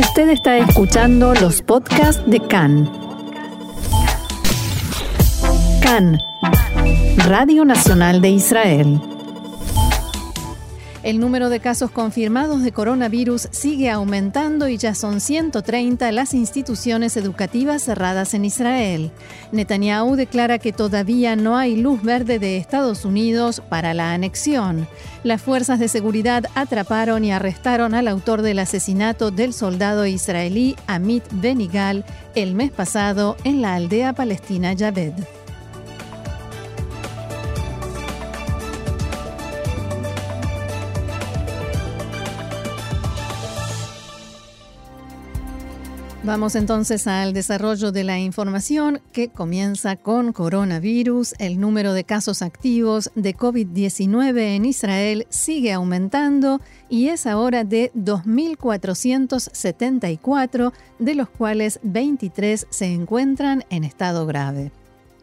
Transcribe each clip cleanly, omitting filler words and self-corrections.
Usted está escuchando los podcasts de CAN. CAN, Radio Nacional de Israel. El número de casos confirmados de coronavirus sigue aumentando y ya son 130 las instituciones educativas cerradas en Israel. Netanyahu declara que todavía no hay luz verde de Estados Unidos para la anexión. Las fuerzas de seguridad atraparon y arrestaron al autor del asesinato del soldado israelí Amit Benigal el mes pasado en la aldea palestina Yaved. Vamos entonces al desarrollo de la información que comienza con coronavirus. El número de casos activos de COVID-19 en Israel sigue aumentando y es ahora de 2.474, de los cuales 23 se encuentran en estado grave.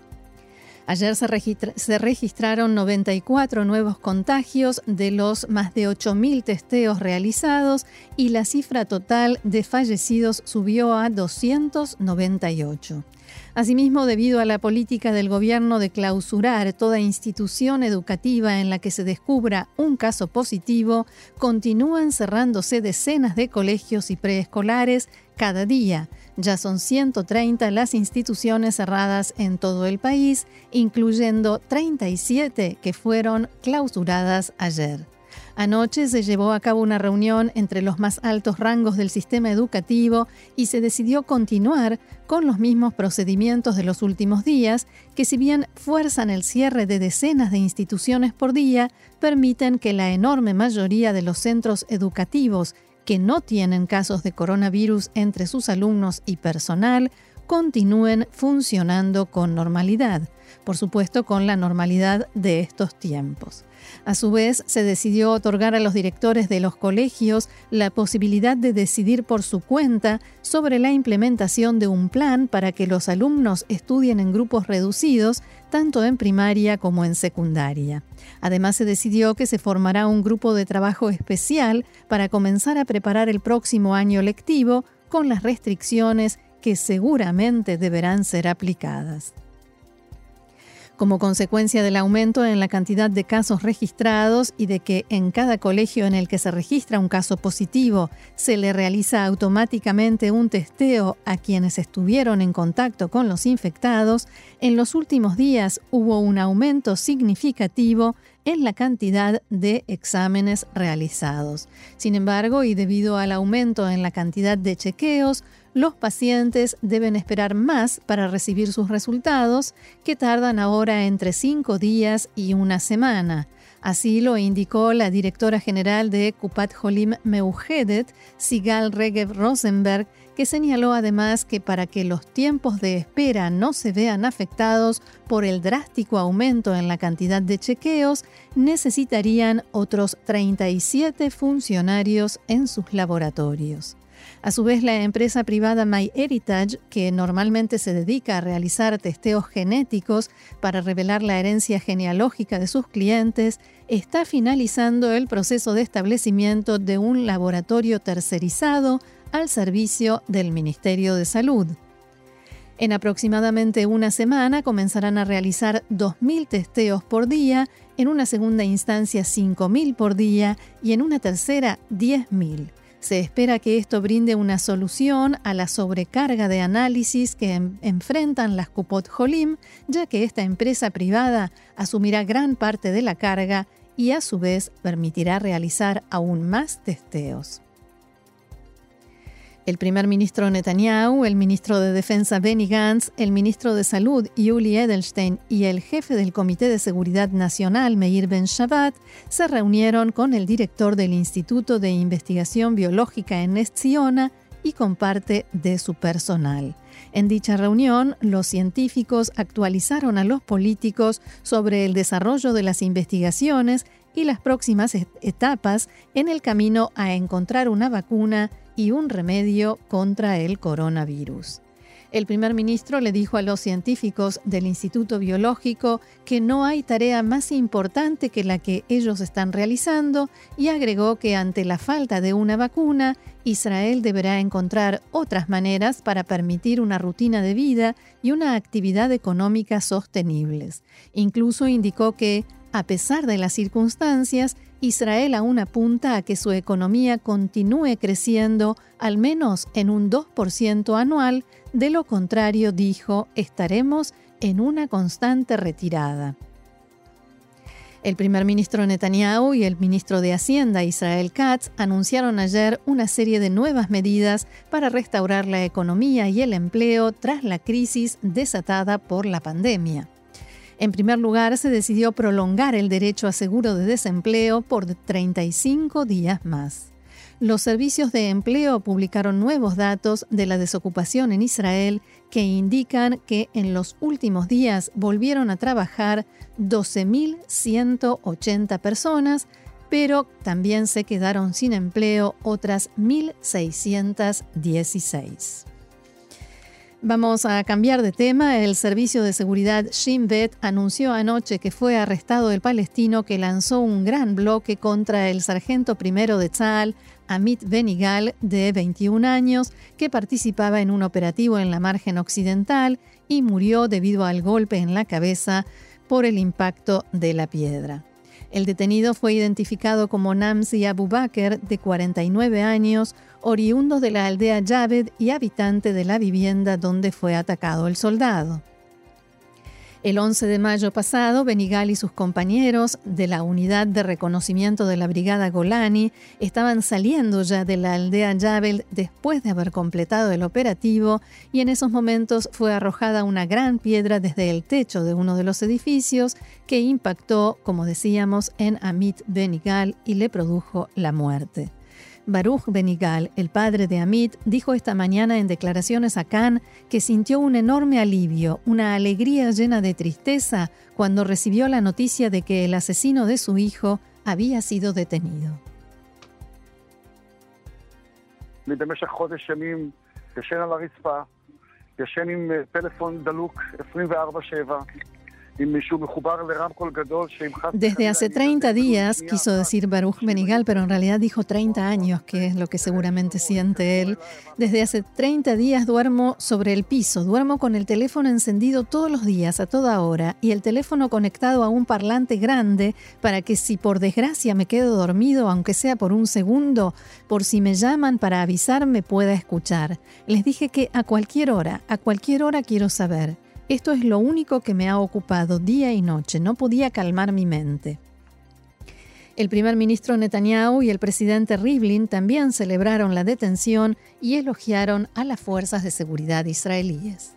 Ayer se registraron 94 nuevos contagios de los más de 8.000 testeos realizados y la cifra total de fallecidos subió a 298. Asimismo, debido a la política del gobierno de clausurar toda institución educativa en la que se descubra un caso positivo, continúan cerrándose decenas de colegios y preescolares cada día. Ya son 130 las instituciones cerradas en todo el país, incluyendo 37 que fueron clausuradas ayer. Anoche se llevó a cabo una reunión entre los más altos rangos del sistema educativo y se decidió continuar con los mismos procedimientos de los últimos días, que si bien fuerzan el cierre de decenas de instituciones por día, permiten que la enorme mayoría de los centros educativos que no tienen casos de coronavirus entre sus alumnos y personal continúen funcionando con normalidad, por supuesto con la normalidad de estos tiempos. A su vez, se decidió otorgar a los directores de los colegios la posibilidad de decidir por su cuenta sobre la implementación de un plan para que los alumnos estudien en grupos reducidos, tanto en primaria como en secundaria. Además, se decidió que se formará un grupo de trabajo especial para comenzar a preparar el próximo año lectivo con las restricciones que seguramente deberán ser aplicadas. Como consecuencia del aumento en la cantidad de casos registrados y de que en cada colegio en el que se registra un caso positivo se le realiza automáticamente un testeo a quienes estuvieron en contacto con los infectados, en los últimos días hubo un aumento significativo en la cantidad de exámenes realizados. Sin embargo, y debido al aumento en la cantidad de chequeos, los pacientes deben esperar más para recibir sus resultados, que tardan ahora entre 5 días y una semana. Así lo indicó la directora general de Kupat Holim Meuhedet, Sigal Regev Rosenberg, que señaló además que para que los tiempos de espera no se vean afectados por el drástico aumento en la cantidad de chequeos, necesitarían otros 37 funcionarios en sus laboratorios. A su vez, la empresa privada MyHeritage, que normalmente se dedica a realizar testeos genéticos para revelar la herencia genealógica de sus clientes, está finalizando el proceso de establecimiento de un laboratorio tercerizado al servicio del Ministerio de Salud. En aproximadamente una semana comenzarán a realizar 2.000 testeos por día, en una segunda instancia 5.000 por día y en una tercera 10.000. Se espera que esto brinde una solución a la sobrecarga de análisis que enfrentan las Kupot Holim, ya que esta empresa privada asumirá gran parte de la carga y a su vez permitirá realizar aún más testeos. El primer ministro Netanyahu, el ministro de Defensa Benny Gantz, el ministro de Salud Yuli Edelstein y el jefe del Comité de Seguridad Nacional Meir Ben-Shabbat se reunieron con el director del Instituto de Investigación Biológica en Ness Ziona y con parte de su personal. En dicha reunión, los científicos actualizaron a los políticos sobre el desarrollo de las investigaciones y las próximas etapas en el camino a encontrar una vacuna y un remedio contra el coronavirus. El primer ministro le dijo a los científicos del Instituto Biológico que no hay tarea más importante que la que ellos están realizando y agregó que ante la falta de una vacuna, Israel deberá encontrar otras maneras para permitir una rutina de vida y una actividad económica sostenibles. Incluso indicó que, a pesar de las circunstancias, Israel aún apunta a que su economía continúe creciendo al menos en un 2% anual, de lo contrario, dijo, estaremos en una constante retirada. El primer ministro Netanyahu y el ministro de Hacienda Israel Katz anunciaron ayer una serie de nuevas medidas para restaurar la economía y el empleo tras la crisis desatada por la pandemia. En primer lugar, se decidió prolongar el derecho a seguro de desempleo por 35 días más. Los servicios de empleo publicaron nuevos datos de la desocupación en Israel que indican que en los últimos días volvieron a trabajar 12.180 personas, pero también se quedaron sin empleo otras 1.616. Vamos a cambiar de tema. El servicio de seguridad Shin Bet anunció anoche que fue arrestado el palestino que lanzó un gran bloque contra el sargento primero de Tzahal, Amit Benigal, de 21 años, que participaba en un operativo en la margen occidental y murió debido al golpe en la cabeza por el impacto de la piedra. El detenido fue identificado como Namzi Abu Bakr, de 49 años, oriundo de la aldea Yaved y habitante de la vivienda donde fue atacado el soldado. El 11 de mayo pasado, Benigal y sus compañeros de la unidad de reconocimiento de la Brigada Golani estaban saliendo ya de la aldea Yaved después de haber completado el operativo y en esos momentos fue arrojada una gran piedra desde el techo de uno de los edificios que impactó, como decíamos, en Amit Benigal y le produjo la muerte. Baruch Benigal, el padre de Amit, dijo esta mañana en declaraciones a Kan que sintió un enorme alivio, una alegría llena de tristeza cuando recibió la noticia de que el asesino de su hijo había sido detenido. במשך חודש ימים ישן על הרצפה, ישן עם טלפון דלוק 24/7. Desde hace 30 días, quiso decir Baruch Benigal, pero en realidad dijo 30 años, que es lo que seguramente siente él. Desde hace 30 días duermo sobre el piso, duermo con el teléfono encendido todos los días, a toda hora, y el teléfono conectado a un parlante grande para que si por desgracia me quedo dormido, aunque sea por un segundo, por si me llaman para avisarme pueda escuchar. Les dije que a cualquier hora quiero saber. Esto es lo único que me ha ocupado día y noche. No podía calmar mi mente. El primer ministro Netanyahu y el presidente Rivlin también celebraron la detención y elogiaron a las fuerzas de seguridad israelíes.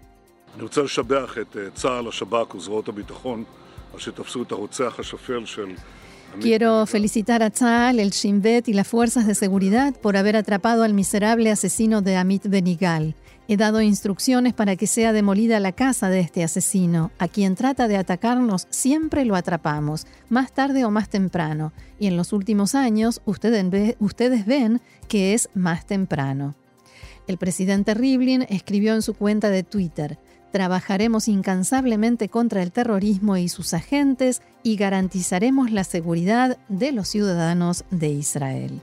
Quiero felicitar a Tzahal, el Shin Bet y las fuerzas de seguridad por haber atrapado al miserable asesino de Amit Benigal. He dado instrucciones para que sea demolida la casa de este asesino. A quien trata de atacarnos siempre lo atrapamos, más tarde o más temprano. Y en los últimos años ustedes ven que es más temprano. El presidente Rivlin escribió en su cuenta de Twitter: trabajaremos incansablemente contra el terrorismo y sus agentes y garantizaremos la seguridad de los ciudadanos de Israel.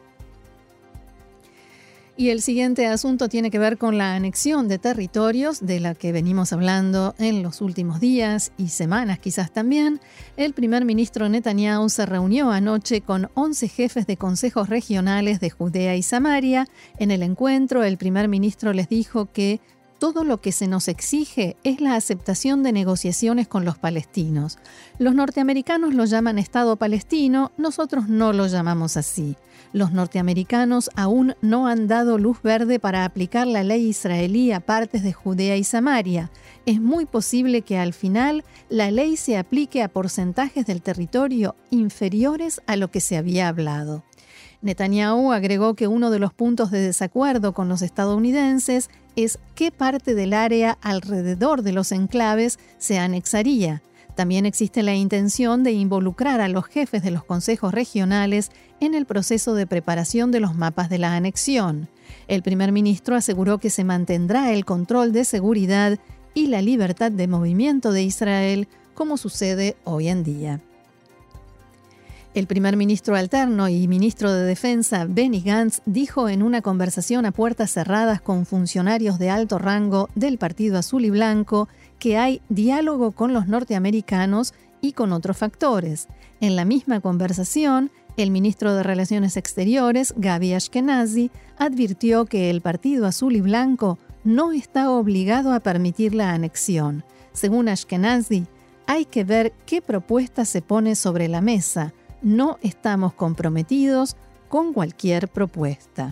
Y el siguiente asunto tiene que ver con la anexión de territorios de la que venimos hablando en los últimos días y semanas quizás también. El primer ministro Netanyahu se reunió anoche con 11 jefes de consejos regionales de Judea y Samaria. En el encuentro, el primer ministro les dijo que todo lo que se nos exige es la aceptación de negociaciones con los palestinos. Los norteamericanos lo llaman Estado palestino, nosotros no lo llamamos así. Los norteamericanos aún no han dado luz verde para aplicar la ley israelí a partes de Judea y Samaria. Es muy posible que al final la ley se aplique a porcentajes del territorio inferiores a lo que se había hablado. Netanyahu agregó que uno de los puntos de desacuerdo con los estadounidenses es qué parte del área alrededor de los enclaves se anexaría. También existe la intención de involucrar a los jefes de los consejos regionales en el proceso de preparación de los mapas de la anexión. El primer ministro aseguró que se mantendrá el control de seguridad y la libertad de movimiento de Israel, como sucede hoy en día. El primer ministro alterno y ministro de Defensa, Benny Gantz, dijo en una conversación a puertas cerradas con funcionarios de alto rango del Partido Azul y Blanco que hay diálogo con los norteamericanos y con otros factores. En la misma conversación, el ministro de Relaciones Exteriores, Gaby Ashkenazi, advirtió que el Partido Azul y Blanco no está obligado a permitir la anexión. Según Ashkenazi, hay que ver qué propuesta se pone sobre la mesa. No estamos comprometidos con cualquier propuesta.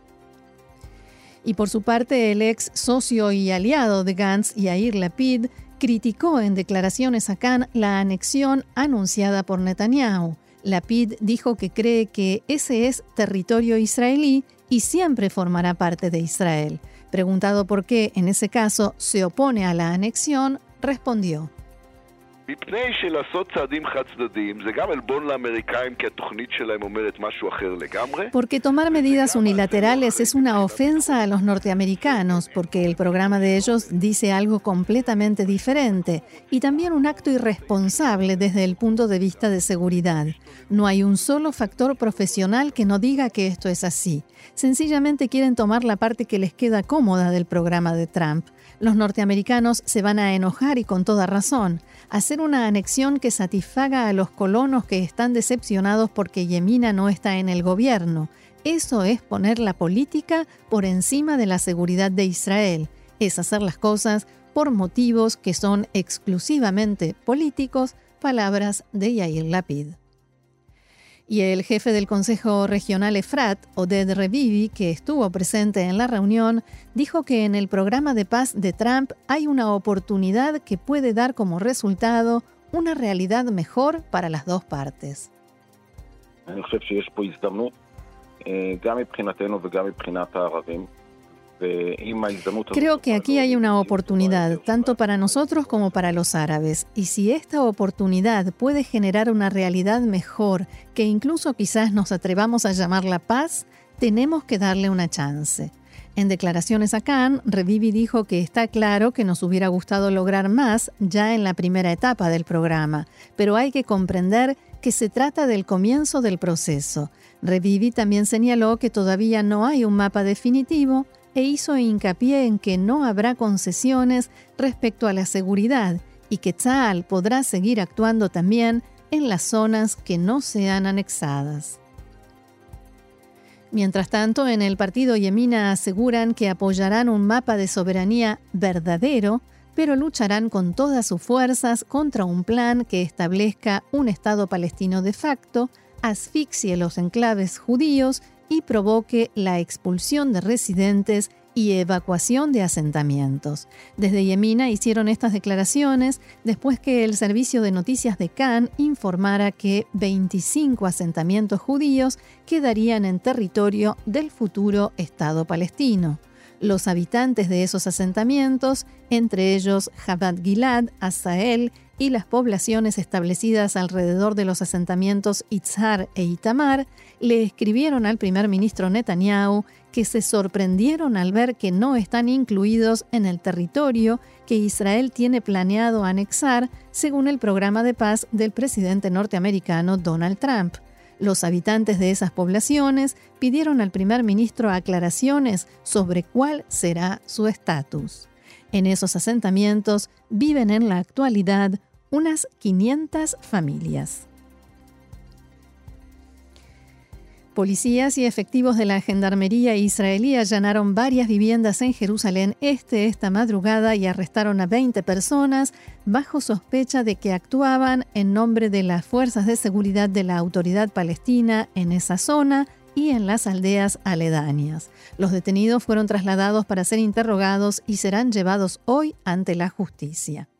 Y por su parte, el ex socio y aliado de Gantz, Yair Lapid, criticó en declaraciones a Cannes la anexión anunciada por Netanyahu. Lapid dijo que cree que ese es territorio israelí y siempre formará parte de Israel. Preguntado por qué, en ese caso, se opone a la anexión, respondió: porque tomar medidas unilaterales es una ofensa a los norteamericanos, porque el programa de ellos dice algo completamente diferente, y también un acto irresponsable desde el punto de vista de seguridad. No hay un solo factor profesional que no diga que esto es así. Sencillamente quieren tomar la parte que les queda cómoda del programa de Trump. Los norteamericanos se van a enojar y con toda razón. Hacer una anexión que satisfaga a los colonos que están decepcionados porque Yemina no está en el gobierno. Eso es poner la política por encima de la seguridad de Israel. Es hacer las cosas por motivos que son exclusivamente políticos, palabras de Yair Lapid. Y el jefe del Consejo Regional Efrat, Oded Revivi, que estuvo presente en la reunión, dijo que en el programa de paz de Trump hay una oportunidad que puede dar como resultado una realidad mejor para las dos partes. Creo que aquí hay una oportunidad, tanto para nosotros como para los árabes, y si esta oportunidad puede generar una realidad mejor, que incluso quizás nos atrevamos a llamarla paz, tenemos que darle una chance. En declaraciones a Cannes, Revivi dijo que está claro que nos hubiera gustado lograr más ya en la primera etapa del programa, pero hay que comprender que se trata del comienzo del proceso. Revivi también señaló que todavía no hay un mapa definitivo e hizo hincapié en que no habrá concesiones respecto a la seguridad y que Tzahal podrá seguir actuando también en las zonas que no sean anexadas. Mientras tanto, en el partido Yemina aseguran que apoyarán un mapa de soberanía verdadero, pero lucharán con todas sus fuerzas contra un plan que establezca un Estado palestino de facto, asfixie los enclaves judíos y provoque la expulsión de residentes y evacuación de asentamientos. Desde Yemina hicieron estas declaraciones después que el servicio de noticias de Cannes informara que 25 asentamientos judíos quedarían en territorio del futuro Estado palestino. Los habitantes de esos asentamientos, entre ellos Jabad Gilad, Asael y las poblaciones establecidas alrededor de los asentamientos Itzhar e Itamar, le escribieron al primer ministro Netanyahu que se sorprendieron al ver que no están incluidos en el territorio que Israel tiene planeado anexar según el programa de paz del presidente norteamericano Donald Trump. Los habitantes de esas poblaciones pidieron al primer ministro aclaraciones sobre cuál será su estatus. En esos asentamientos viven en la actualidad unas 500 familias. Policías y efectivos de la Gendarmería israelí allanaron varias viviendas en Jerusalén Este esta madrugada y arrestaron a 20 personas bajo sospecha de que actuaban en nombre de las fuerzas de seguridad de la Autoridad Palestina en esa zona y en las aldeas aledañas. Los detenidos fueron trasladados para ser interrogados y serán llevados hoy ante la justicia.